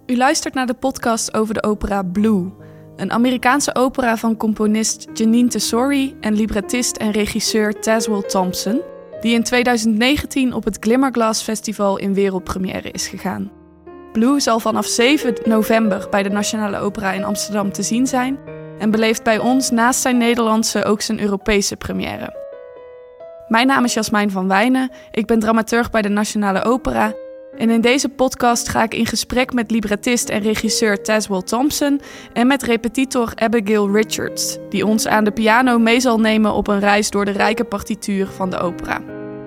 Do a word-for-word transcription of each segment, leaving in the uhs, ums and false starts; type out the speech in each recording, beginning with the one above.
U luistert naar de podcast over de opera Blue, een Amerikaanse opera van componist Jeanine Tesori en librettist en regisseur Tazewell Thompson, die in tweeduizend negentien op het Glimmerglass Festival in wereldpremière is gegaan. Blue zal vanaf zeven november bij de Nationale Opera in Amsterdam te zien zijn en beleeft bij ons naast zijn Nederlandse ook zijn Europese première. Mijn naam is Jasmijn van Wijnen, ik ben dramaturg bij de Nationale Opera en in deze podcast ga ik in gesprek met librettist en regisseur Tazewell Thompson en met repetitor Abigail Richards, die ons aan de piano mee zal nemen op een reis door de rijke partituur van de opera.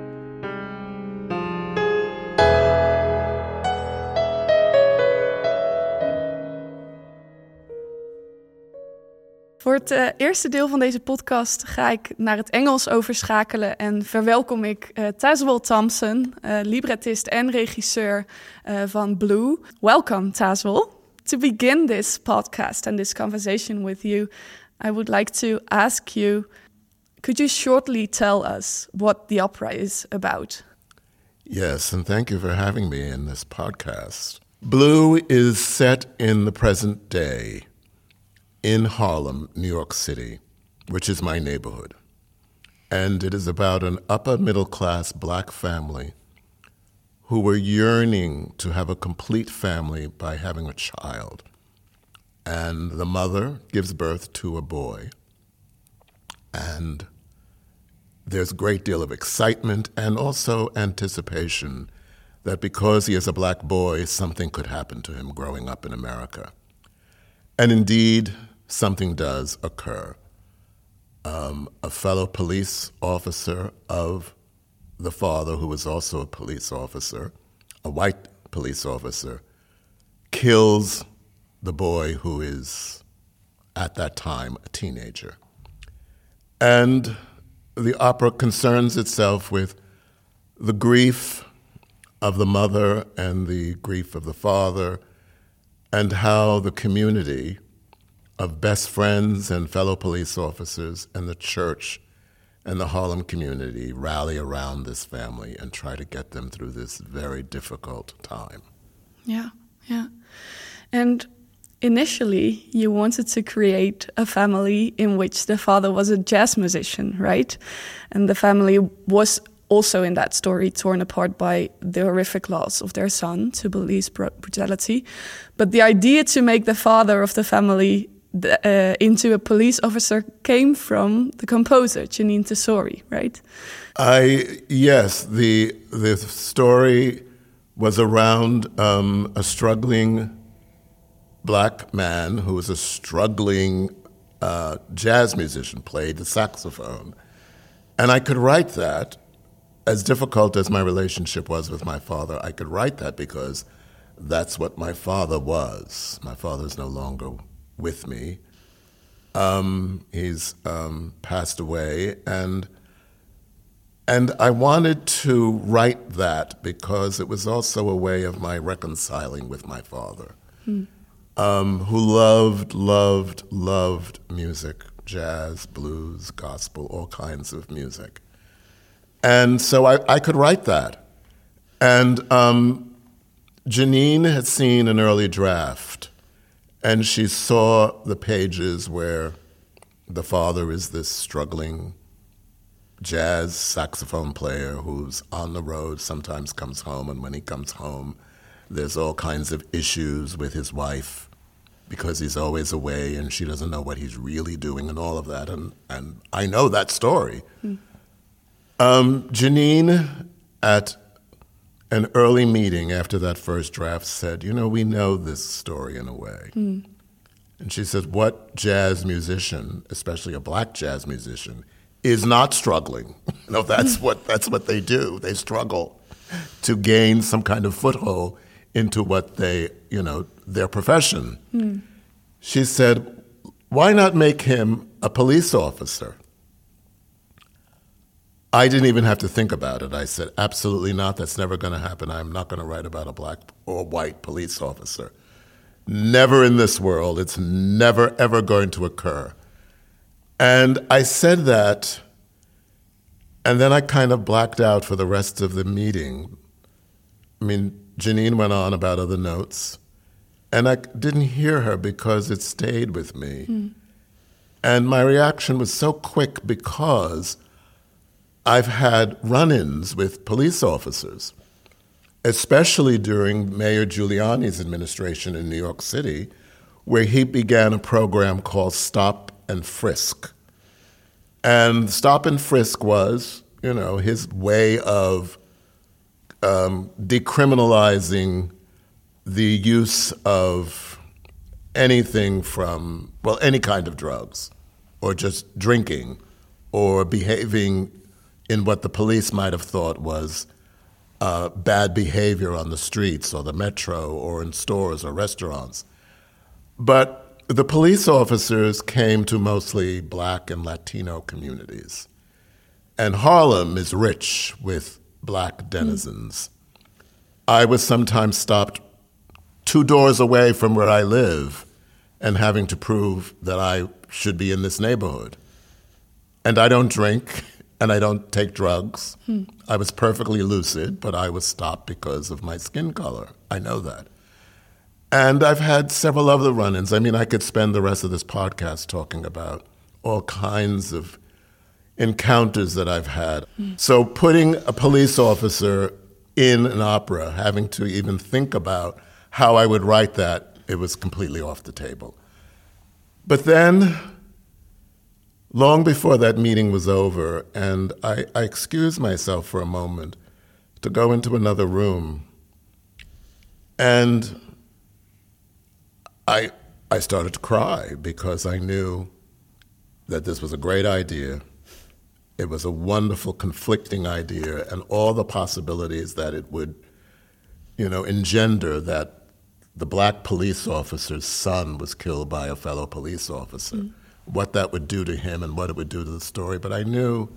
Voor het uh, eerste deel van deze podcast ga ik naar het Engels overschakelen en verwelkom ik uh, Tazewell Thompson, uh, librettist en regisseur uh, van Blue. Welcome, Tazewell. To begin this podcast and this conversation with you, I would like to ask you, could you shortly tell us what the opera is about? Yes, and thank you for having me in this podcast. Blue is set in the present day in Harlem, New York City, which is my neighborhood. And it is about an upper middle class black family who were yearning to have a complete family by having a child. And the mother gives birth to a boy. And there's a great deal of excitement and also anticipation that because he is a black boy, something could happen to him growing up in America. And indeed, something does occur. Um, a fellow police officer of the father, who was also a police officer, a white police officer, kills the boy who is, at that time, a teenager. And the opera concerns itself with the grief of the mother and the grief of the father, and how the community of best friends and fellow police officers and the church and the Harlem community rally around this family and try to get them through this very difficult time. Yeah, yeah. And initially, you wanted to create a family in which the father was a jazz musician, right? And the family was also in that story torn apart by the horrific loss of their son to police brutality. But the idea to make the father of the family uh, into a police officer came from the composer, Jeanine Tesori, right? I yes, the the story was around um, a struggling black man who was a struggling uh, jazz musician, played the saxophone. And I could write that. As difficult as my relationship was with my father, I could write that because that's what my father was. My father's no longer with me. Um, he's um, passed away, and and I wanted to write that because it was also a way of my reconciling with my father, hmm. um, who loved, loved, loved music, jazz, blues, gospel, all kinds of music. And so I, I could write that. And um, Jeanine had seen an early draft, and she saw the pages where the father is this struggling jazz saxophone player who's on the road, sometimes comes home, and when he comes home, there's all kinds of issues with his wife because he's always away and she doesn't know what he's really doing and all of that. And, and I know that story. Mm. Um, Jeanine, at an early meeting after that first draft, said, you know, we know this story in a way. Mm. And she said, what jazz musician, especially a black jazz musician, is not struggling? You know, that's what that's what they do. They struggle to gain some kind of foothold into what they, you know, their profession. Mm. She said, why not make him a police officer? I didn't even have to think about it. I said, absolutely not. That's never going to happen. I'm not going to write about a black or white police officer. Never in this world. It's never, ever going to occur. And I said that, and then I kind of blacked out for the rest of the meeting. I mean, Jeanine went on about other notes, And I didn't hear her because it stayed with me. Mm. And my reaction was so quick because I've had run-ins with police officers, especially during Mayor Giuliani's administration in New York City, where he began a program called Stop and Frisk. And Stop and Frisk was, you know, his way of um, decriminalizing the use of anything from, well, any kind of drugs, or just drinking, or behaving in what the police might have thought was uh, bad behavior on the streets or the metro or in stores or restaurants. But the police officers came to mostly Black and Latino communities. And Harlem is rich with Black denizens. Mm. I was sometimes stopped two doors away from where I live and having to prove that I should be in this neighborhood. And I don't drink, and I don't take drugs. Hmm. I was perfectly lucid, but I was stopped because of my skin color. I know that. And I've had several other run-ins. I mean, I could spend the rest of this podcast talking about all kinds of encounters that I've had. Hmm. So putting a police officer in an opera, having to even think about how I would write that, it was completely off the table. But then, long before that meeting was over, and I, I excused myself for a moment to go into another room, and I, I started to cry because I knew that this was a great idea. It was a wonderful, conflicting idea, and all the possibilities that it would, you know, engender that the Black police officer's son was killed by a fellow police officer, mm. what that would do to him and what it would do to the story. But I knew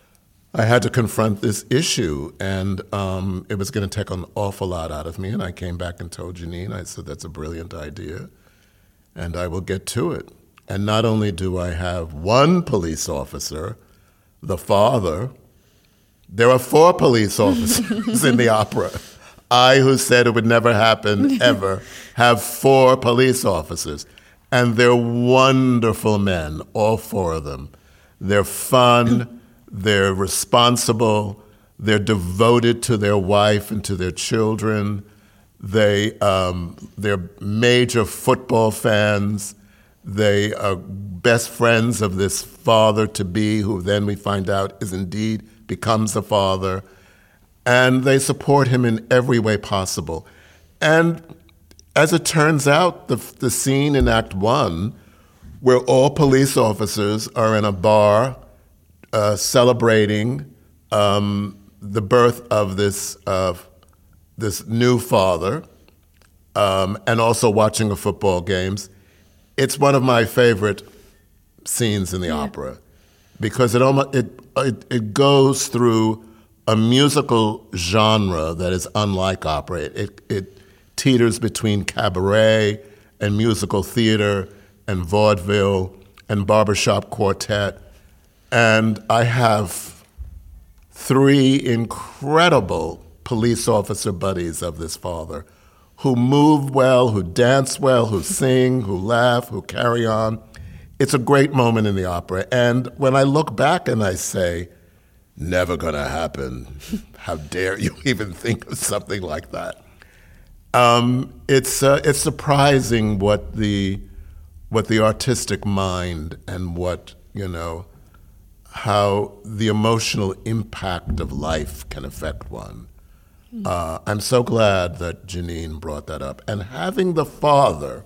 I had to confront this issue, and um, it was going to take an awful lot out of me. And I came back and told Jeanine, I said, that's a brilliant idea, and I will get to it. And not only do I have one police officer, the father, there are four police officers in the opera. I, who said it would never happen, ever, have four police officers. And they're wonderful men, all four of them. They're fun, they're responsible, they're devoted to their wife and to their children. They, um, they're major football fans. They are best friends of this father-to-be, who then we find out is indeed becomes the father. And they support him in every way possible. And as it turns out, the, the scene in Act One, where all police officers are in a bar uh, celebrating um, the birth of this uh, this new father, um, and also watching a football games, it's one of my favorite scenes in the yeah. opera, because it almost it it, it goes through a musical genre that is unlike opera. It, it, it teeters between cabaret and musical theater and vaudeville and barbershop quartet. And I have three incredible police officer buddies of this father who move well, who dance well, who sing, who laugh, who carry on. It's a great moment in the opera. And when I look back and I say, never gonna happen. How dare you even think of something like that? Um, it's uh, it's surprising what the what the artistic mind and what you know how the emotional impact of life can affect one. Mm. Uh, I'm so glad that Jeanine brought that up. And having the father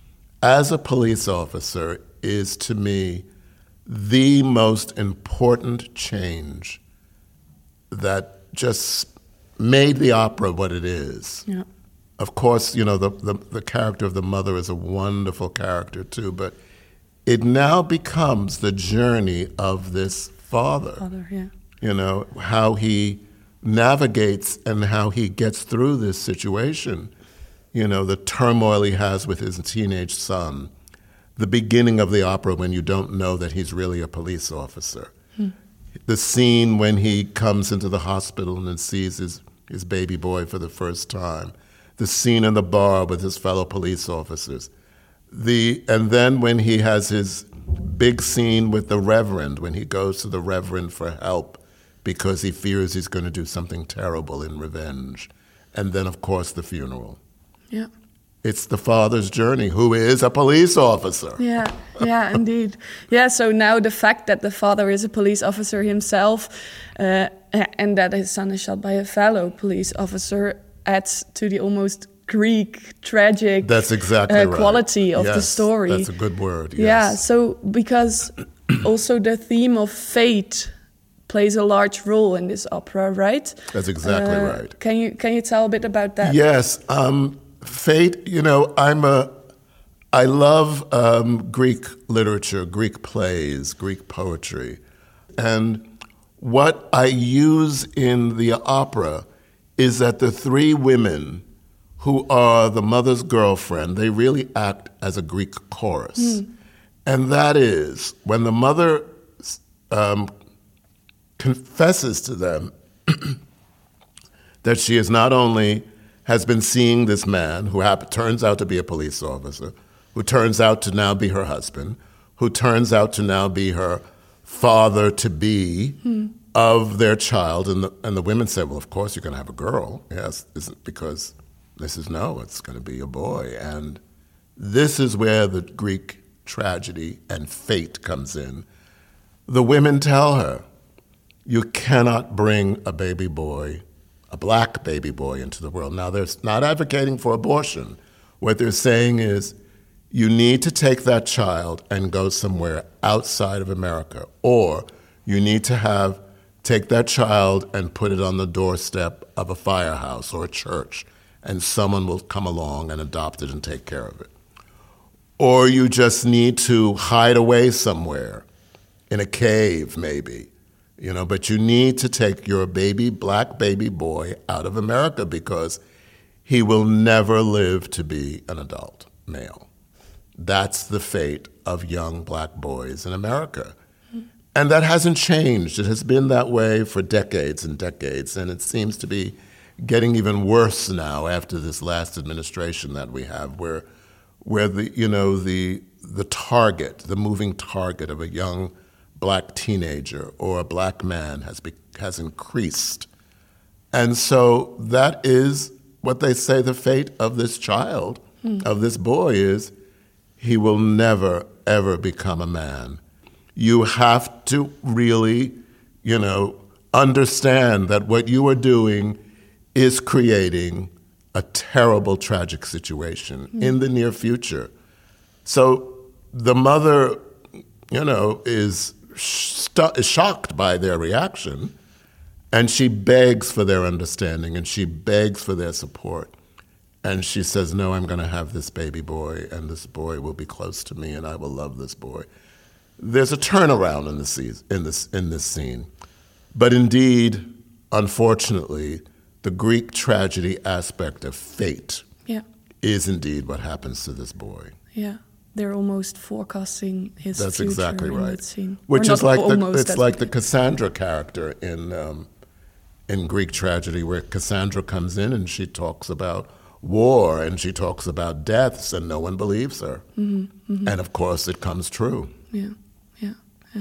as a police officer is, to me, the most important change that just made the opera what it is. Yeah. Of course, you know, the, the, the character of the mother is a wonderful character too, but it now becomes the journey of this father. Father, yeah. You know, how he navigates and how he gets through this situation. You know, the turmoil he has with his teenage son. The beginning of the opera when you don't know that he's really a police officer. Hmm. The scene when he comes into the hospital and sees his, his baby boy for the first time. the scene in the bar with his fellow police officers. The, and then when he has his big scene with the Reverend, when he goes to the Reverend for help because he fears he's going to do something terrible in revenge. And then, of course, the funeral. Yeah. It's the father's journey, who is a police officer. Yeah, yeah, indeed. Yeah, so now the fact that the father is a police officer himself uh, and that his son is shot by a fellow police officer adds to the almost Greek, tragic that's exactly uh, right. quality of yes, the story. That's a good word, yes. Yeah, so because also the theme of fate plays a large role in this opera, right? That's exactly uh, right. Can you can you tell a bit about that? Yes, um, fate, you know, I'm a, I love um, Greek literature, Greek plays, Greek poetry. And what I use in the opera is that the three women who are the mother's girlfriend, they really act as a Greek chorus. Mm. And that is, when the mother um, confesses to them that she is not only has been seeing this man who happen, turns out to be a police officer, who turns out to now be her husband, who turns out to now be her father-to-be mm. of their child. And the, and the women say, well, of course you're going to have a girl. Yes, isn't because this is no, it's going to be a boy. And this is where the Greek tragedy and fate comes in. The women tell her, you cannot bring a baby boy, a black baby boy, into the world. Now, they're not advocating for abortion. What they're saying is, you need to take that child and go somewhere outside of America, or you need to have take that child and put it on the doorstep of a firehouse or a church, and someone will come along and adopt it and take care of it. Or you just need to hide away somewhere, in a cave maybe, you know, but you need to take your baby, black baby boy out of America because he will never live to be an adult male. That's the fate of young black boys in America. Mm-hmm. And that hasn't changed. It has been that way for decades and decades, and it seems to be getting even worse now after this last administration that we have, where where the you know the the target, the moving target of a young black teenager or a black man has be, has increased. And so that is what they say the fate of this child, mm. of this boy is, he will never, ever become a man. You have to really, you know, understand that what you are doing is creating a terrible, tragic situation mm. in the near future. So the mother, you know, is, stu- is shocked by their reaction, and she begs for their understanding, and she begs for their support. And she says, no, I'm going to have this baby boy, and this boy will be close to me, and I will love this boy. There's a turnaround in this, in this, in this scene. But indeed, unfortunately, the Greek tragedy aspect of fate yeah. is indeed what happens to this boy. Yeah, they're almost forecasting his that's future exactly in right. that scene. Which or is like almost, the, it's like the Cassandra character in um, in Greek tragedy, where Cassandra comes in and she talks about war and she talks about deaths, and no one believes her. Mm-hmm, mm-hmm. And of course, it comes true. Yeah, yeah, yeah.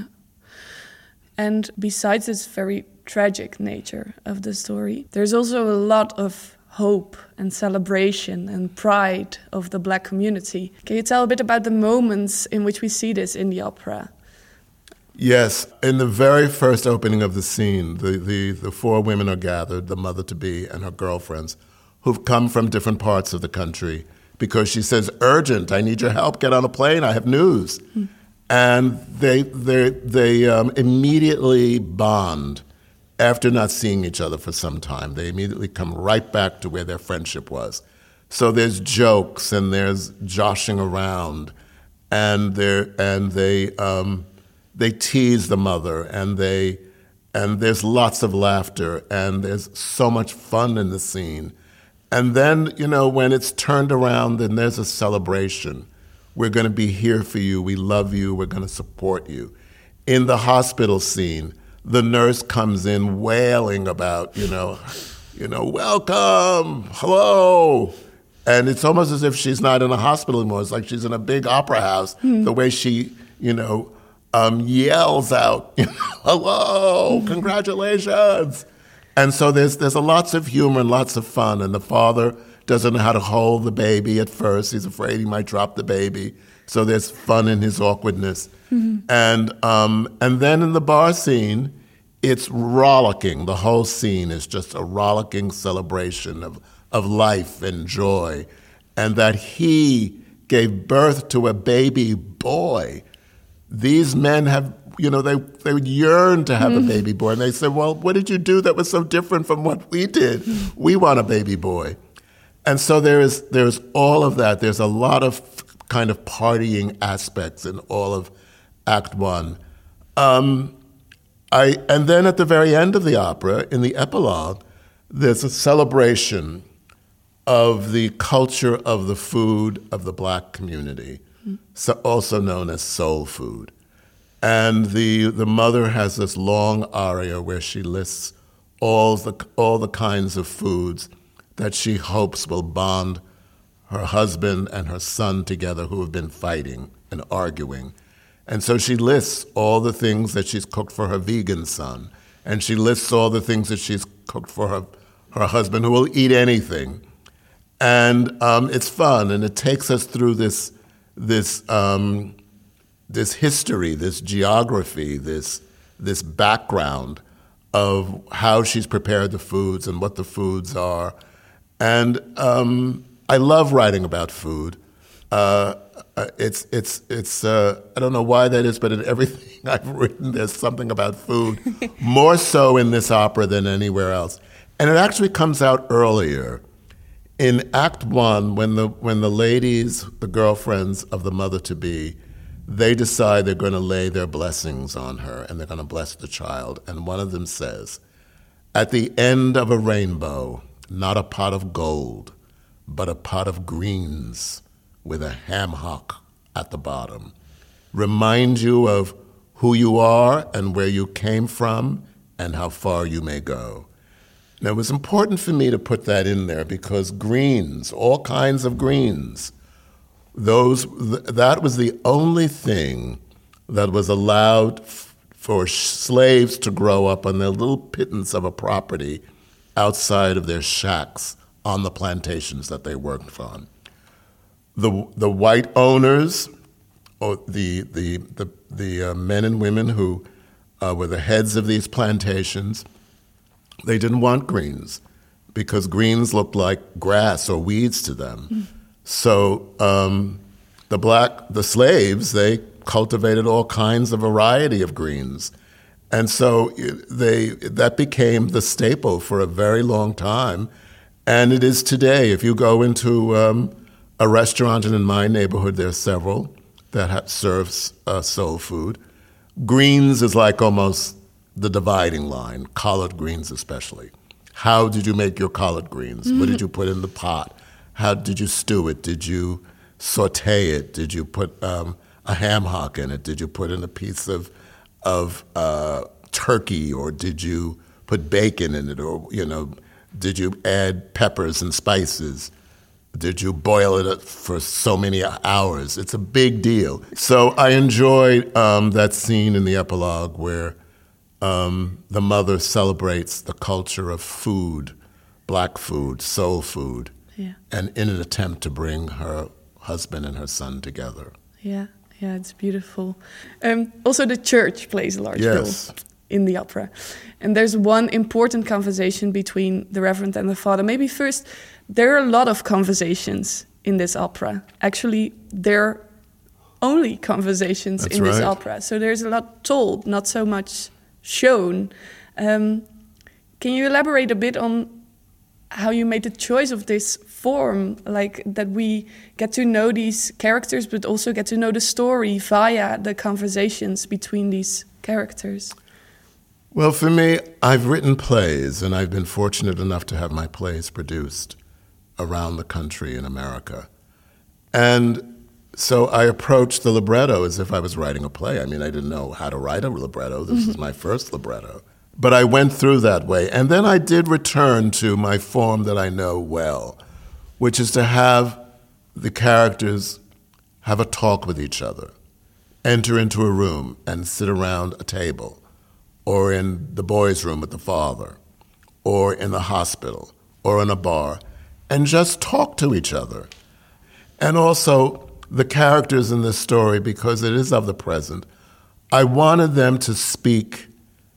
And besides this very tragic nature of the story, there's also a lot of hope and celebration and pride of the black community. Can you tell a bit about the moments in which we see this in the opera? Yes. In the very first opening of the scene, the, the, the four women are gathered, the mother-to-be and her girlfriends, who've come from different parts of the country, because she says, urgent, I need your help, get on a plane, I have news. Hmm. And they, they, they um, immediately bond. After not seeing each other for some time, they immediately come right back to where their friendship was. So there's jokes and there's joshing around, and they and they um, they tease the mother, and they and there's lots of laughter, and there's so much fun in the scene. And then, you know, when it's turned around, then there's a celebration. We're going to be here for you. We love you. We're going to support you. In the hospital scene, the nurse comes in wailing about, you know, you know, welcome, hello, And it's almost as if she's not in a hospital anymore. It's like she's in a big opera house. Mm. The way she, you know, um, yells out, you know, hello, mm. congratulations. And so there's there's a lots of humor and lots of fun. And the father doesn't know how to hold the baby at first. He's afraid he might drop the baby. So there's fun in his awkwardness. Mm-hmm. And um, and then in the bar scene, it's rollicking. The whole scene is just a rollicking celebration of of life and joy, and that he gave birth to a baby boy. These men have, you know, they they would yearn to have mm. a baby boy, and they said, well, what did you do that was so different from what we did? Mm. We want a baby boy. And so there is there's all of that. There's a lot of kind of partying aspects in all of Act One. Um, I and then at the very end of the opera, in the epilogue, there's a celebration of the culture of the food of the black community, mm. so also known as soul food. And the the mother has this long aria where she lists all the all the kinds of foods that she hopes will bond her husband and her son together who have been fighting and arguing. And so she lists all the things that she's cooked for her vegan son, and she lists all the things that she's cooked for her, her husband who will eat anything. And um, it's fun, and it takes us through this this um, this history, this geography, this this background of how she's prepared the foods and what the foods are. And um, I love writing about food. Uh, it's it's it's uh, I don't know why that is, but in everything I've written, there's something about food, more so in this opera than anywhere else. And it actually comes out earlier. In Act One, when the when the ladies, the girlfriends of the mother-to-be, they decide they're going to lay their blessings on her and they're going to bless the child. And one of them says, at the end of a rainbow, not a pot of gold, but a pot of greens with a ham hock at the bottom. Remind you of who you are and where you came from and how far you may go. Now, it was important for me to put that in there because greens, all kinds of greens, those that was the only thing that was allowed f- for slaves to grow up on their little pittance of a property outside of their shacks on the plantations that they worked on. The the white owners, or the the the, the uh, men and women who uh, were the heads of these plantations, they didn't want greens because greens looked like grass or weeds to them. Mm. So um, the black, the slaves, they cultivated all kinds of variety of greens. And so they that became the staple for a very long time. And it is today. If you go into um, a restaurant, and in my neighborhood there are several that ha- serves uh, soul food, greens is like almost the dividing line, collard greens especially. How did you make your collard greens? Mm-hmm. What did you put in the pot? How did you stew it? Did you saute it? Did you put um, a ham hock in it? Did you put in a piece of of uh, turkey, or did you put bacon in it? Or, you know, did you add peppers and spices? Did you boil it for so many hours? It's a big deal. So I enjoyed um, that scene in the epilogue where Um, the mother celebrates the culture of food, black food, soul food, yeah. and in an attempt to bring her husband and her son together. Yeah, yeah, it's beautiful. Um, also, the church plays a large yes. role in the opera. And there's one important conversation between the Reverend and the Father. Maybe first, there are a lot of conversations in this opera. Actually, there are only conversations That's in right. this opera. So there's a lot told, not so much shown. Um, can you elaborate a bit on how you made the choice of this form, like that we get to know these characters, but also get to know the story via the conversations between these characters? Well, for me, I've written plays, and I've been fortunate enough to have my plays produced around the country in America. And so I approached the libretto as if I was writing a play. I mean, I didn't know how to write a libretto. This mm-hmm. is my first libretto. But I went through that way. And then I did return to my form that I know well, which is to have the characters have a talk with each other, enter into a room and sit around a table, or in the boys' room with the father, or in the hospital, or in a bar, and just talk to each other. And also, the characters in this story, because it is of the present, I wanted them to speak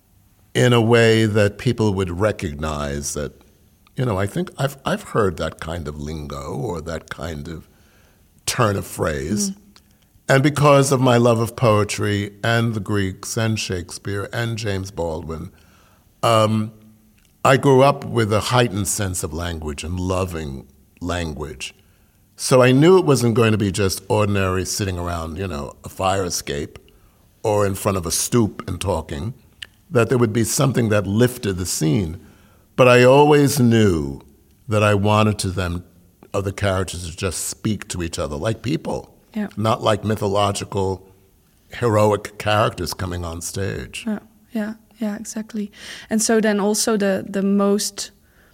in a way that people would recognize that, you know, I think I've I've heard that kind of lingo or that kind of turn of phrase. Mm-hmm. And because of my love of poetry and the Greeks and Shakespeare and James Baldwin, um, I grew up with a heightened sense of language and loving language. So I knew it wasn't going to be just ordinary sitting around, you know, a fire escape or in front of a stoop and talking, that there would be something that lifted the scene. But I always knew that I wanted to them, of the characters, to just speak to each other like people, yeah. Not like mythological, heroic characters coming on stage. Yeah, yeah, yeah, exactly. And so then also the the most,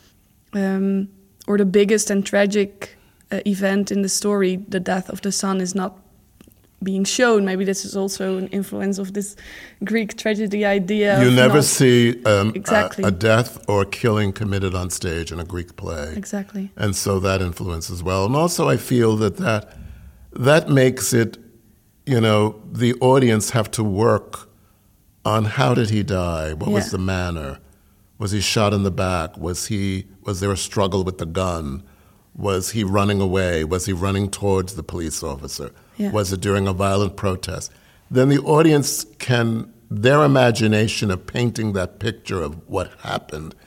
um, or the biggest and tragic uh, event in the story, the death of the son, is not being shown. Maybe this is also an influence of this Greek tragedy idea. You never see um, exactly. a, a death or a killing committed on stage in a Greek play. Exactly. And so that influences well. And also I feel that that, that makes it, you know, the audience have to work on how did he die? What yeah. was the manner? Was he shot in the back? Was he? Was there a struggle with the gun? Was he running away? Was he running towards the police officer? Yeah. Was it during a violent protest? Then the audience can, their imagination of painting that picture of what happened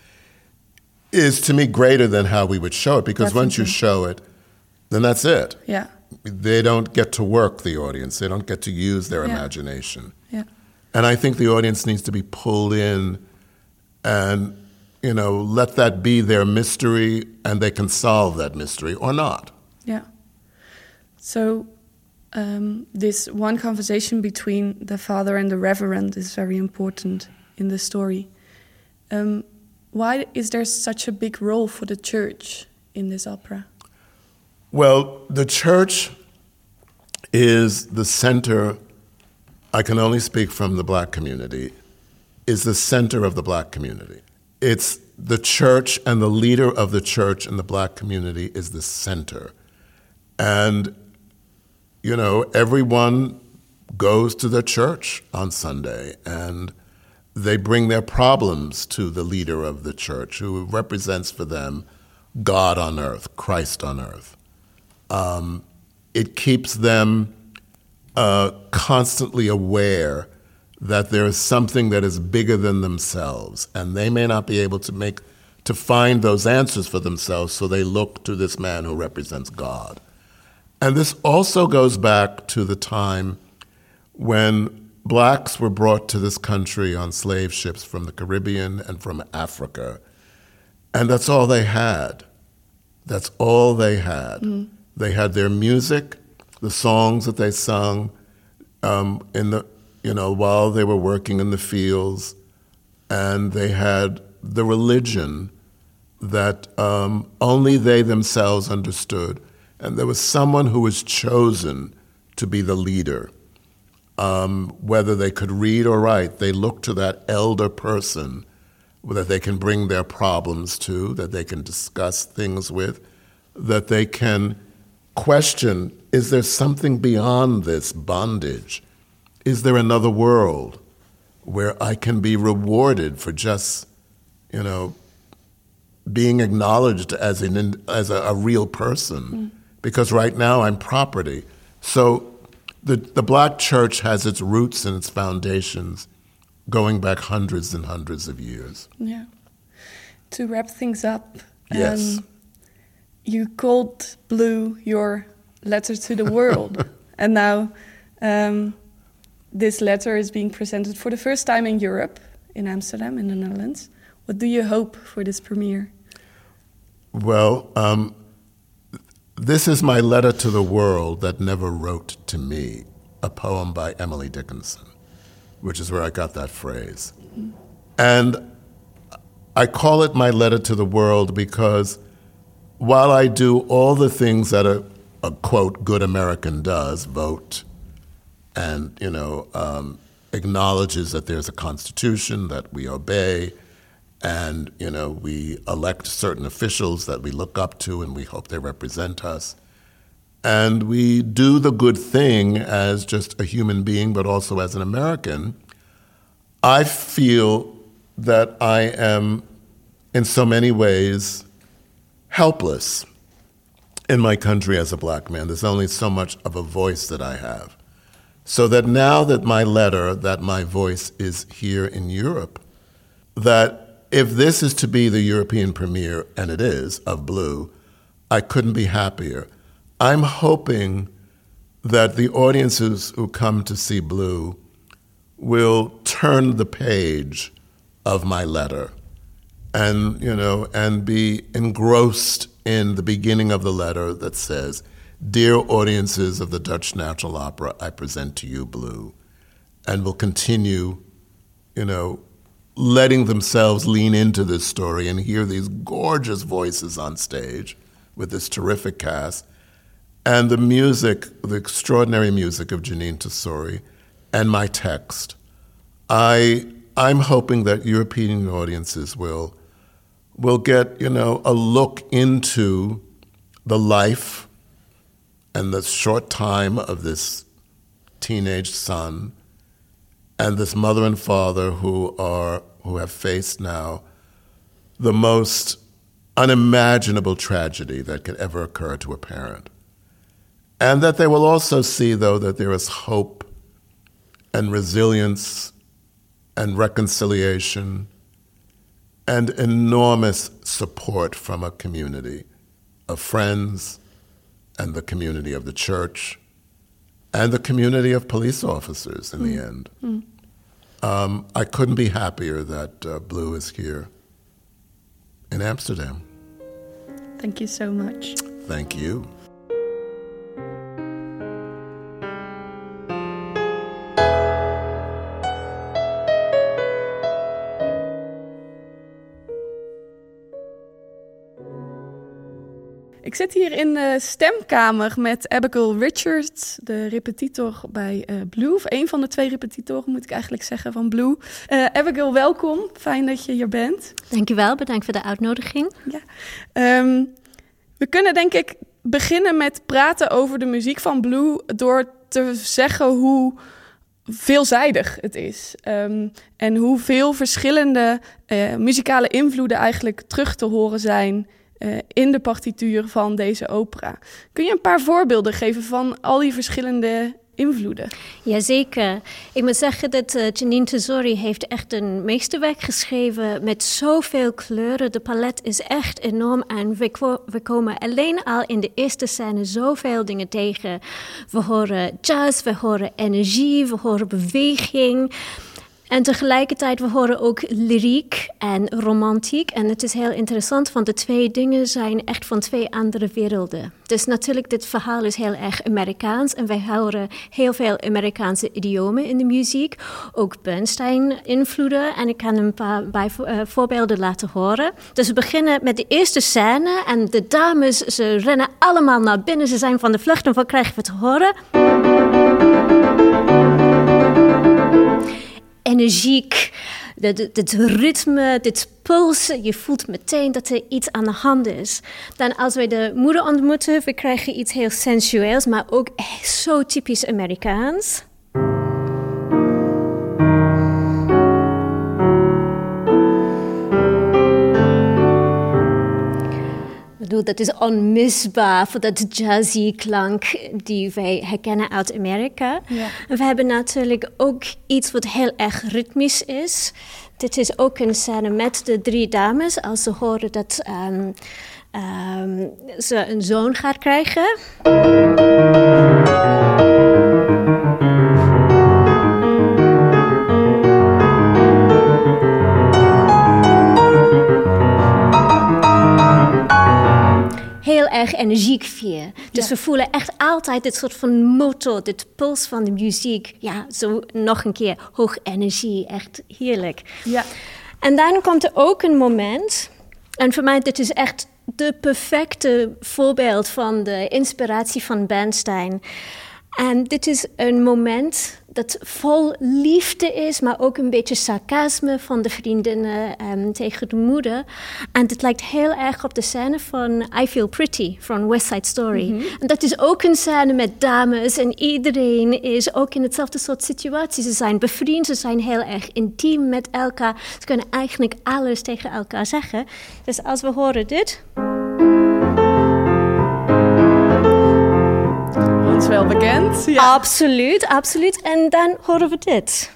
is, to me, greater than how we would show it, because Definitely. Once you show it, then that's it. Yeah. They don't get to work, the audience. They don't get to use their yeah. imagination. Yeah. And I think the audience needs to be pulled in and, you know, let that be their mystery, and they can solve that mystery or not. Yeah. So um, this one conversation between the father and the reverend is very important in the story. Um, why is there such a big role for the church in this opera? Well, the church is the center, I can only speak from the black community, is the center of the black community. It's the church, and the leader of the church in the black community is the center. And, you know, everyone goes to the church on Sunday, and they bring their problems to the leader of the church, who represents for them God on earth, Christ on earth. Um, it keeps them uh, constantly aware that there is something that is bigger than themselves, and they may not be able to make to find those answers for themselves, so they look to this man who represents God. And this also goes back to the time when blacks were brought to this country on slave ships from the Caribbean and from Africa, and that's all they had. That's all they had. Mm. They had their music, the songs that they sung um, in the, you know, while they were working in the fields, and they had the religion that um, only they themselves understood. And there was someone who was chosen to be the leader. Um, whether they could read or write, they looked to that elder person that they can bring their problems to, that they can discuss things with, that they can question, is there something beyond this bondage? Is there another world where I can be rewarded for just, you know, being acknowledged as an as a, a real person? Mm. Because right now I'm property. So the the black church has its roots and its foundations going back hundreds and hundreds of years. Yeah. To wrap things up, yes. um, you called Blue your letter to the world, and now um, this letter is being presented for the first time in Europe, in Amsterdam, in the Netherlands. What do you hope for this premiere? Well, um, this is my letter to the world that never wrote to me, a poem by Emily Dickinson, which is where I got that phrase. Mm-hmm. And I call it my letter to the world because while I do all the things that a, a quote good American does, vote, and you know um, acknowledges that there's a constitution that we obey, and you know we elect certain officials that we look up to and we hope they represent us, and we do the good thing as just a human being, but also as an American. I feel that I am, in so many ways, helpless in my country as a black man. There's only so much of a voice that I have. So that now that my letter, that my voice is here in Europe, that if this is to be the European premiere, and it is, of Blue, I couldn't be happier. I'm hoping that the audiences who come to see Blue will turn the page of my letter and, you know, and be engrossed in the beginning of the letter that says, "Dear audiences of the Dutch National Opera, I present to you Blue," and will continue, you know, letting themselves lean into this story and hear these gorgeous voices on stage with this terrific cast, and the music, the extraordinary music of Jeanine Tesori, and my text. I, I'm hoping that European audiences will, will get, you know, a look into the life and the short time of this teenage son and this mother and father who are, who have faced now the most unimaginable tragedy that could ever occur to a parent. And that they will also see, though, that there is hope and resilience and reconciliation and enormous support from a community of friends and the community of the church and the community of police officers in mm. the end. Mm. Um, I couldn't be happier that uh, Blue is here in Amsterdam. Thank you so much. Thank you. Ik zit hier in de stemkamer met Abigail Richards, de repetitor bij uh, Blue. Of een van de twee repetitoren, moet ik eigenlijk zeggen, van Blue. Uh, Abigail, welkom. Fijn dat je hier bent. Dankjewel, bedankt voor de uitnodiging. Ja. Um, we kunnen denk ik beginnen met praten over de muziek van Blue door te zeggen hoe veelzijdig het is. Um, en hoeveel verschillende uh, muzikale invloeden eigenlijk terug te horen zijn Uh, in de partituur van deze opera. Kun je een paar voorbeelden geven van al die verschillende invloeden? Jazeker. Ik moet zeggen dat uh, Jeanine Tesori heeft echt een meesterwerk geschreven met zoveel kleuren. De palet is echt enorm en we, ko- we komen alleen al in de eerste scène zoveel dingen tegen. We horen jazz, we horen energie, we horen beweging. En tegelijkertijd, we horen ook lyriek en romantiek. En het is heel interessant, want de twee dingen zijn echt van twee andere werelden. Dus natuurlijk, dit verhaal is heel erg Amerikaans. En wij horen heel veel Amerikaanse idiomen in de muziek. Ook Bernstein-invloeden. En ik kan een paar bij, uh, voorbeelden laten horen. Dus we beginnen met de eerste scène. En de dames, ze rennen allemaal naar binnen. Ze zijn van de vlucht. En wat krijgen we te horen? Energiek, dit ritme, dit pulsen. Je voelt meteen dat er iets aan de hand is. Dan als wij de moeder ontmoeten, we krijgen iets heel sensueels, maar ook zo typisch Amerikaans. Dat is onmisbaar voor dat jazzy klank die wij herkennen uit Amerika. Ja. En we hebben natuurlijk ook iets wat heel erg ritmisch is. Dit is ook een scène met de drie dames als ze horen dat um, um, ze een zoon gaat krijgen. Heel erg energiek weer. Dus ja. We voelen echt altijd dit soort van motor, dit puls van de muziek. Ja, zo nog een keer hoog energie, echt heerlijk. Ja. En dan komt er ook een moment, en voor mij dit is echt de perfecte voorbeeld van de inspiratie van Bernstein. En dit is een moment dat vol liefde is, maar ook een beetje sarcasme van de vriendinnen um, tegen de moeder. En dit lijkt heel erg op de scène van I Feel Pretty van West Side Story. Mm-hmm. En dat is ook een scène met dames en iedereen is ook in hetzelfde soort situatie. Ze zijn bevriend, ze zijn heel erg intiem met elkaar. Ze kunnen eigenlijk alles tegen elkaar zeggen. Dus als we horen dit... Ons wel bekend. Ja. Absoluut, absoluut. En dan horen we dit.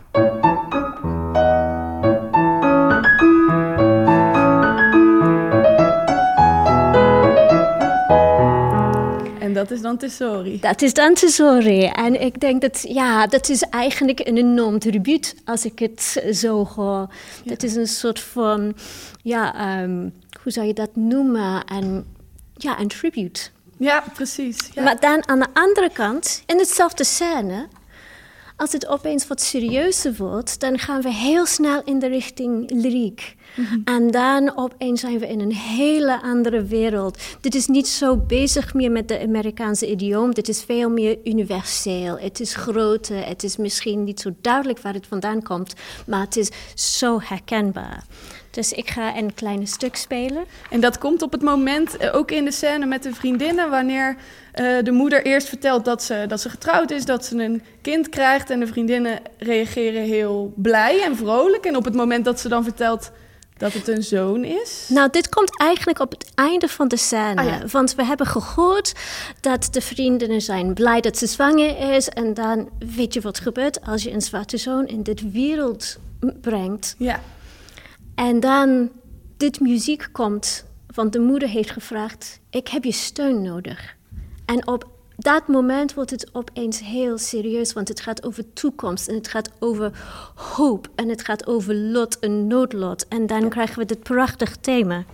En dat is dan Tesori. Dat is dan Tesori. En ik denk dat, ja, dat is eigenlijk een enorm tribuut als ik het zo hoor. Ja. Dat is een soort van, ja, um, hoe zou je dat noemen? Een, ja, een tribute. Ja, precies. Ja. Maar dan aan de andere kant, in hetzelfde scène, als het opeens wat serieuzer wordt, dan gaan we heel snel in de richting lyriek. Mm-hmm. En dan opeens zijn we in een hele andere wereld. Dit is niet zo bezig meer met de Amerikaanse idioom. Dit is veel meer universeel. Het is groter. Het is misschien niet zo duidelijk waar het vandaan komt, maar het is zo herkenbaar. Dus ik ga een klein stuk spelen. En dat komt op het moment, ook in de scène met de vriendinnen, wanneer uh, de moeder eerst vertelt dat ze, dat ze getrouwd is, dat ze een kind krijgt. En de vriendinnen reageren heel blij en vrolijk. En op het moment dat ze dan vertelt dat het een zoon is? Nou, dit komt eigenlijk op het einde van de scène. Ah, ja. Want we hebben gehoord dat de vriendinnen zijn blij dat ze zwanger is. En dan weet je wat gebeurt als je een zwarte zoon in dit wereld brengt. Ja. En dan dit muziek komt, want de moeder heeft gevraagd, ik heb je steun nodig. En op dat moment wordt het opeens heel serieus, want het gaat over toekomst en het gaat over hoop en het gaat over lot en noodlot. En dan krijgen we dit prachtig thema.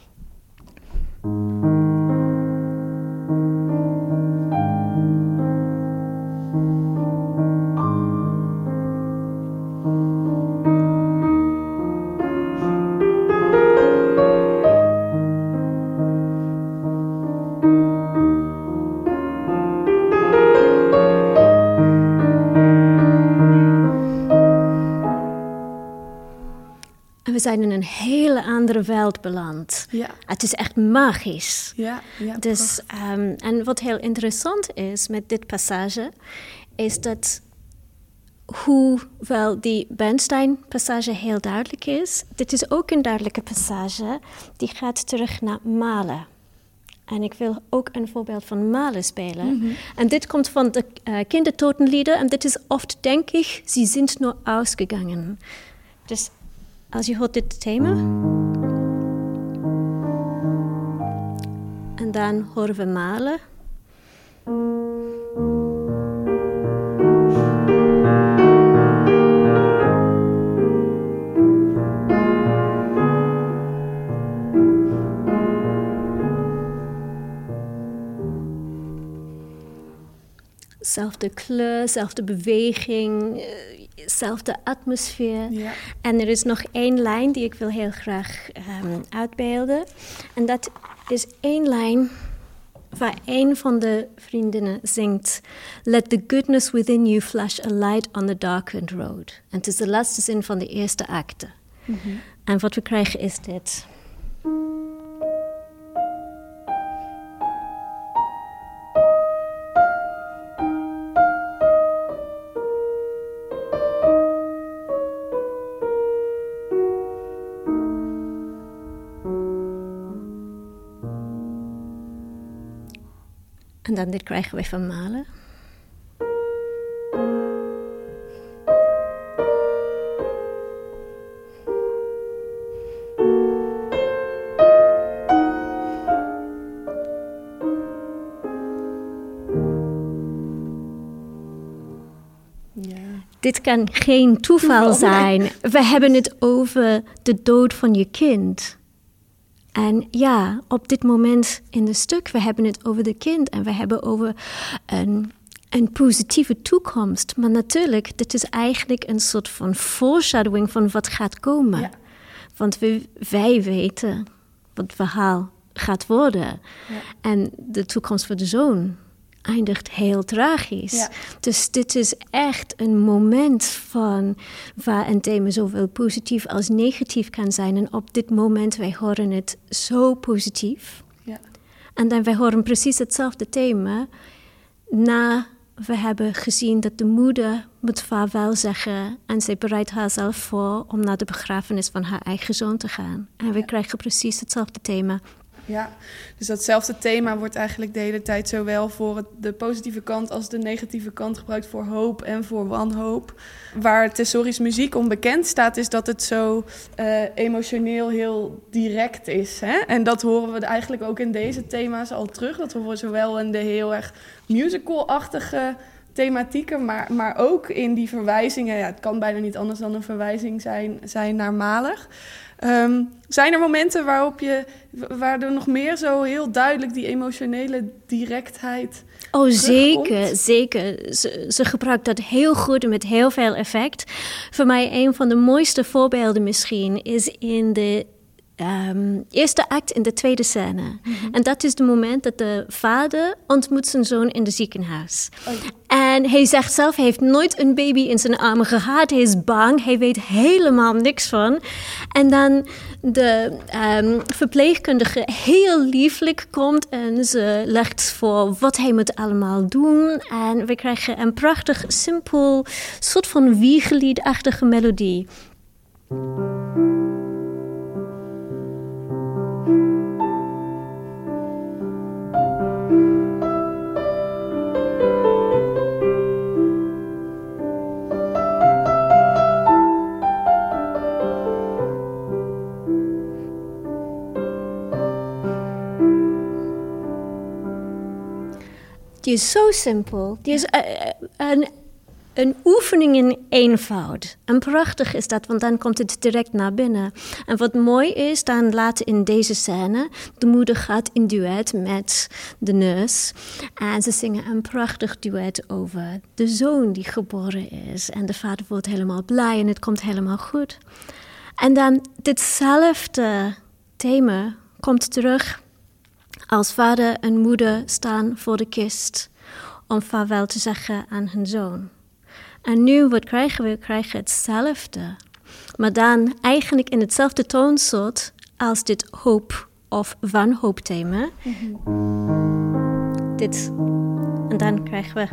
We zijn in een hele andere wereld beland. Ja. Het is echt magisch. Ja, ja, dus, um, en wat heel interessant is met dit passage, is dat hoewel die Bernstein-passage heel duidelijk is, dit is ook een duidelijke passage die gaat terug naar Mahler. En ik wil ook een voorbeeld van Mahler spelen. Mm-hmm. En dit komt van de uh, kindertotenlieder. En dit is oft, denk ik, sie sind nur ausgegangen. Dus als je hoort dit thema. En dan horen we Mahler. Zelfde kleur, zelfde beweging, zelfde atmosfeer. Ja. En er is nog één lijn die ik wil heel graag um, uitbeelden. En dat is één lijn waar een van de vriendinnen zingt. Let the goodness within you flash a light on the darkened road. En het is de laatste zin van de eerste acte. Mm-hmm. En wat we krijgen is dit. En dan dit krijgen we van Mahler. Ja. Dit kan geen toeval zijn. We hebben het over de dood van je kind. En ja, op dit moment in het stuk, we hebben het over de kind en we hebben over een, een positieve toekomst. Maar natuurlijk, dit is eigenlijk een soort van foreshadowing van wat gaat komen. Ja. Want we, wij weten wat het verhaal gaat worden. Ja. En de toekomst van de zoon eindigt heel tragisch. Ja. Dus dit is echt een moment van waar een thema zowel positief als negatief kan zijn. En op dit moment, wij horen het zo positief. Ja. En dan wij horen precies hetzelfde thema na we hebben gezien dat de moeder moet vaarwel zeggen en zij bereidt haarzelf voor om naar de begrafenis van haar eigen zoon te gaan. En we Ja. krijgen precies hetzelfde thema. Ja, dus datzelfde thema wordt eigenlijk de hele tijd zowel voor het, de positieve kant als de negatieve kant gebruikt voor hoop en voor wanhoop. Waar Tessori's muziek om bekend staat, is dat het zo uh, emotioneel heel direct is. Hè? En dat horen we eigenlijk ook in deze thema's al terug. Dat horen we zowel in de heel erg musical-achtige thematieken, maar, maar ook in die verwijzingen. Ja, het kan bijna niet anders dan een verwijzing zijn, zijn naar Mahler. Um, zijn er momenten waarop je, waar er nog meer zo heel duidelijk die emotionele directheid Oh, zeker, terugkomt? zeker. Ze, ze gebruikt dat heel goed en met heel veel effect. Voor mij een van de mooiste voorbeelden misschien is in de um, eerste act in de tweede scène. Mm-hmm. En dat is het moment dat de vader ontmoet zijn zoon in het ziekenhuis. Oh. En hij zegt zelf, hij heeft nooit een baby in zijn armen gehad. Hij is bang, hij weet helemaal niks van. En dan de um, verpleegkundige heel lieflijk komt en ze legt voor wat hij moet allemaal doen. En we krijgen een prachtig, simpel, soort van wiegeliedachtige melodie. Die is zo simpel. Die is uh, een, een oefening in eenvoud. En prachtig is dat, want dan komt het direct naar binnen. En wat mooi is, dan later in deze scène, de moeder gaat in duet met de nurse. En ze zingen een prachtig duet over de zoon die geboren is. En de vader wordt helemaal blij en het komt helemaal goed. En dan ditzelfde thema komt terug als vader en moeder staan voor de kist om vaarwel te zeggen aan hun zoon. En nu, wat krijgen we? We krijgen hetzelfde. Maar dan eigenlijk in hetzelfde toonsoort als dit hoop- of wanhoopthema. Mm-hmm. Dit. En dan krijgen we...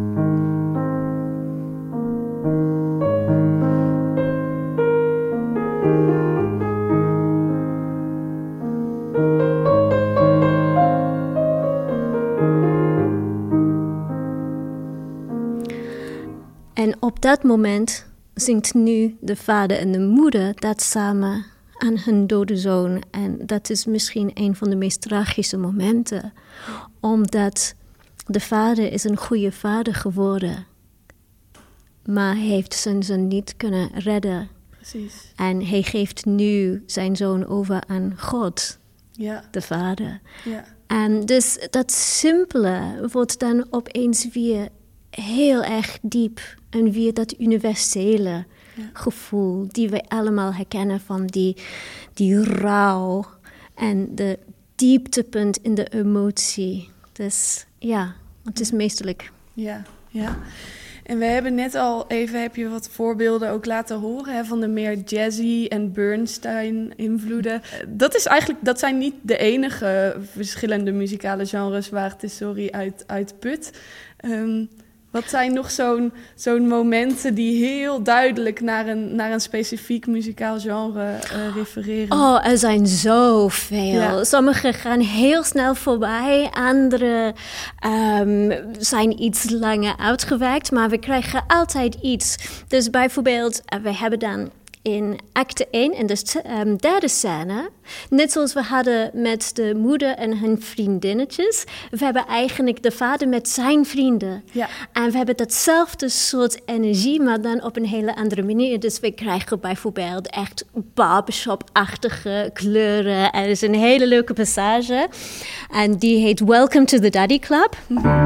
En op dat moment zingt nu de vader en de moeder dat samen aan hun dode zoon. En dat is misschien een van de meest tragische momenten. Omdat de vader is een goede vader geworden. Maar hij heeft zijn zoon niet kunnen redden. Precies. En hij geeft nu zijn zoon over aan God, ja. de vader. Ja. En dus dat simpele wordt dan opeens weer heel erg diep. En weer dat universele ja. gevoel die we allemaal herkennen van die, die rouw en de dieptepunt in de emotie. Dus ja, het is meesterlijk. Ja, ja. En we hebben net al even, heb je wat voorbeelden ook laten horen, hè, van de meer jazzy en Bernstein-invloeden. Dat is eigenlijk, dat zijn niet de enige verschillende muzikale genres waar Tessori uit, uit put. Um, Wat zijn nog zo'n, zo'n momenten die heel duidelijk naar een, naar een specifiek muzikaal genre uh, refereren? Oh, er zijn zoveel. Ja. Sommige gaan heel snel voorbij. Andere um, zijn iets langer uitgewerkt. Maar we krijgen altijd iets. Dus bijvoorbeeld, uh, we hebben dan in acte één, in de um, derde scène, net zoals we hadden met de moeder en hun vriendinnetjes, we hebben eigenlijk de vader met zijn vrienden. Ja. En we hebben datzelfde soort energie, maar dan op een hele andere manier. Dus we krijgen bijvoorbeeld echt barbershop-achtige kleuren. Er is een hele leuke passage. En die heet Welcome to the Daddy Club.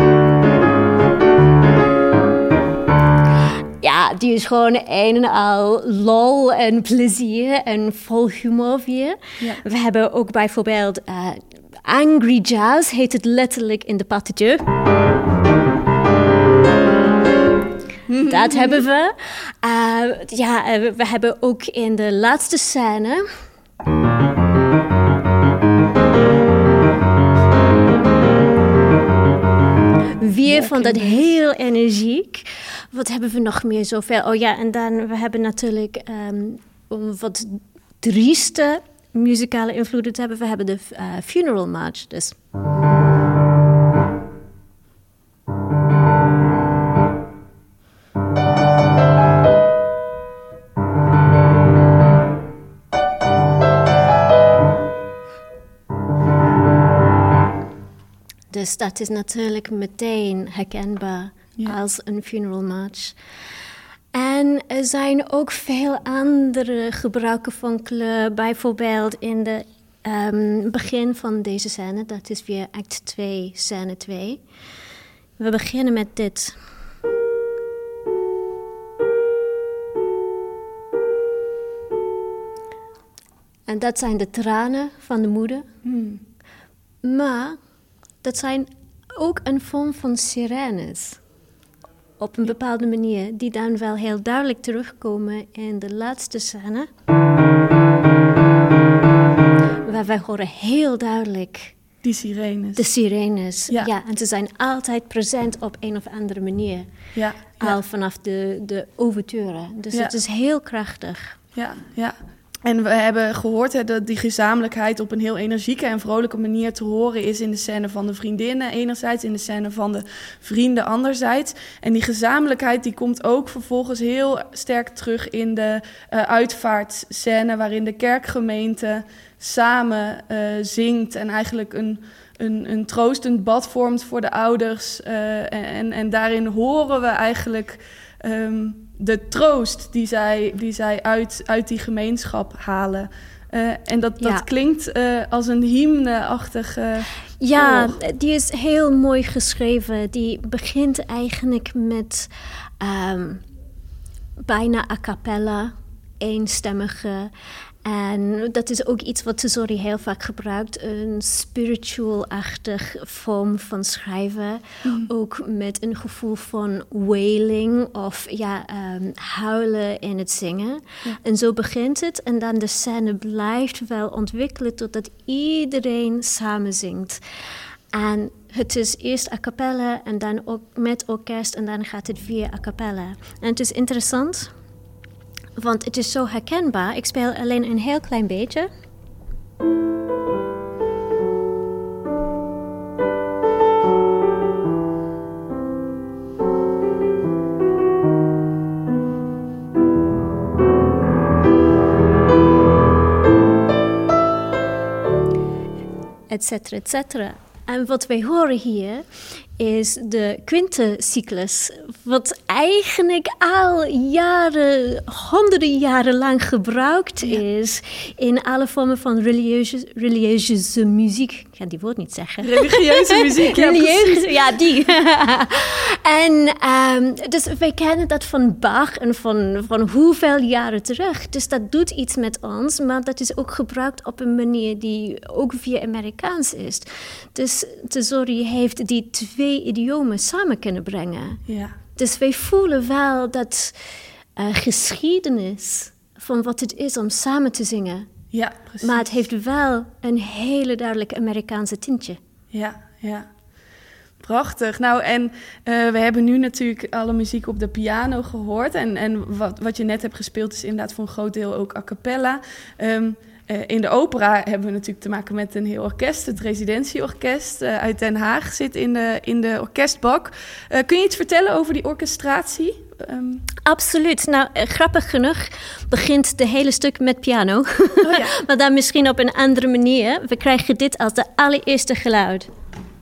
Ja, die is gewoon een en al lol en plezier en vol humor weer. Ja. We hebben ook bijvoorbeeld uh, Angry Jazz heet het letterlijk in de partiture. Dat hebben we. Uh, ja, uh, we hebben ook in de laatste scène... Weer van dat heel energiek. Wat hebben we nog meer zoveel? Oh ja, en dan we hebben natuurlijk um, om wat trieste muzikale invloeden te hebben. We hebben de uh, Funeral March dus. Dus dat is natuurlijk meteen herkenbaar ja. als een funeral march. En er zijn ook veel andere gebruiken van kleur. Bijvoorbeeld in het um, begin van deze scène. Dat is weer act twee, scène twee. We beginnen met dit. En dat zijn de tranen van de moeder. Hmm. Maar... dat zijn ook een vorm van sirenes. Op een bepaalde manier. Die dan wel heel duidelijk terugkomen in de laatste scène. Waar wij horen heel duidelijk... die sirenes. De sirenes, ja. ja. En ze zijn altijd present op een of andere manier. Ja. ja. Al vanaf de, de ouverture. Dus ja. het is heel krachtig. Ja, ja. En we hebben gehoord hè, dat die gezamenlijkheid op een heel energieke en vrolijke manier te horen is in de scène van de vriendinnen enerzijds, in de scène van de vrienden anderzijds. En die gezamenlijkheid die komt ook vervolgens heel sterk terug in de uh, uitvaartscène waarin de kerkgemeente samen uh, zingt en eigenlijk een, een, een troostend bad vormt voor de ouders. Uh, en, en daarin horen we eigenlijk... Um, de troost die zij, die zij uit, uit die gemeenschap halen. Uh, en dat, dat ja. klinkt uh, als een hymne-achtig... Uh, ja, oor. Die is heel mooi geschreven. Die begint eigenlijk met um, bijna a cappella, eenstemmige... En dat is ook iets wat Tesori heel vaak gebruikt. Een spiritual-achtig vorm van schrijven. Mm. Ook met een gevoel van wailing of ja, um, huilen in het zingen. Ja. En zo begint het. En dan de scène blijft wel ontwikkelen totdat iedereen samen zingt. En het is eerst a cappella en dan ook met orkest en dan gaat het via a cappella. En het is interessant... want het is zo herkenbaar. Ik speel alleen een heel klein beetje. Etcetera, etcetera. En wat wij horen hier is de quintencyclus, wat eigenlijk al jaren, honderden jaren lang gebruikt ja. is in alle vormen van religieuze, religieuze muziek. Ik ga die woord niet zeggen. Religieuze muziek, ja, religieuze, ja, die. En um, dus wij kennen dat van Bach en van, van hoeveel jaren terug. Dus dat doet iets met ons, maar dat is ook gebruikt op een manier die ook via Amerikaans is. Dus Tesori heeft die twee idiomen samen kunnen brengen. Ja. Dus wij voelen wel dat uh, geschiedenis van wat het is om samen te zingen. Ja, precies. Maar het heeft wel een hele duidelijk Amerikaanse tintje. Ja, ja. Prachtig. Nou, en uh, we hebben nu natuurlijk alle muziek op de piano gehoord. En, en wat, wat je net hebt gespeeld is inderdaad voor een groot deel ook a cappella. Um, Uh, in de opera hebben we natuurlijk te maken met een heel orkest. Het Residentieorkest uh, uit Den Haag zit in de, in de orkestbak. Uh, kun je iets vertellen over die orchestratie? Um... Absoluut. Nou, uh, grappig genoeg begint de hele stuk met piano. Oh, ja. Maar dan misschien op een andere manier. We krijgen dit als de allereerste geluid.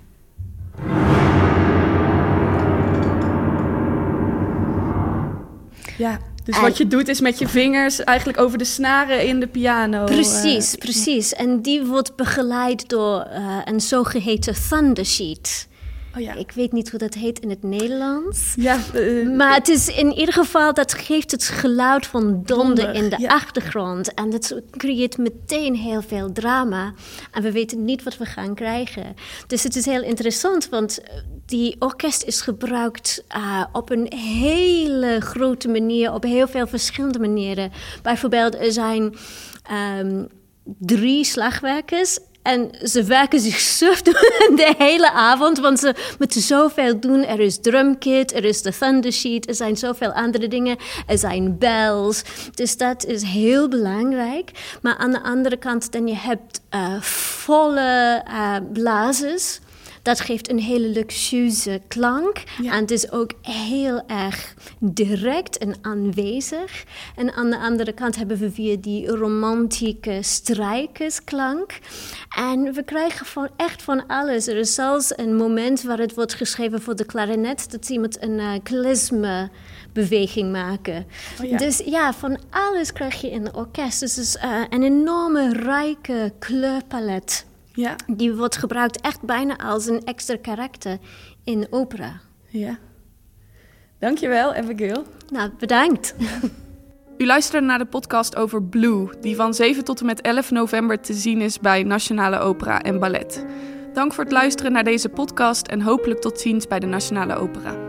Ja. Dus en wat je doet is met je vingers eigenlijk over de snaren in de piano. Precies, uh, precies. En die wordt begeleid door uh, een zogeheten thunder sheet. Oh ja. Ik weet niet hoe dat heet in het Nederlands. Ja, uh, maar het is in ieder geval, dat geeft het geluid van donder in de ja. achtergrond. En dat creëert meteen heel veel drama. En we weten niet wat we gaan krijgen. Dus het is heel interessant, want die orkest is gebruikt uh, op een hele grote manier, op heel veel verschillende manieren. Bijvoorbeeld, er zijn um, drie slagwerkers. En ze werken zich suf de hele avond, want ze moeten zoveel doen. Er is drumkit, er is de thundersheet, er zijn zoveel andere dingen. Er zijn bells, dus dat is heel belangrijk. Maar aan de andere kant, dan je hebt uh, volle uh, blazers. Dat geeft een hele luxueuze klank. Ja. En het is ook heel erg direct en aanwezig. En aan de andere kant hebben we weer die romantieke strijkersklank. En we krijgen van, echt van alles. Er is zelfs een moment waar het wordt geschreven voor de klarinet, dat iemand een uh, klezme-beweging maken. Oh ja. Dus ja, van alles krijg je in het orkest. Dus het is uh, een enorme, rijke kleurpalet. Ja. Die wordt gebruikt echt bijna als een extra karakter in opera. Ja. Dankjewel, Abigail. Nou, bedankt. U luisterde naar de podcast over Blue, die van zeven tot en met elf november te zien is bij Nationale Opera en Ballet. Dank voor het luisteren naar deze podcast en hopelijk tot ziens bij de Nationale Opera.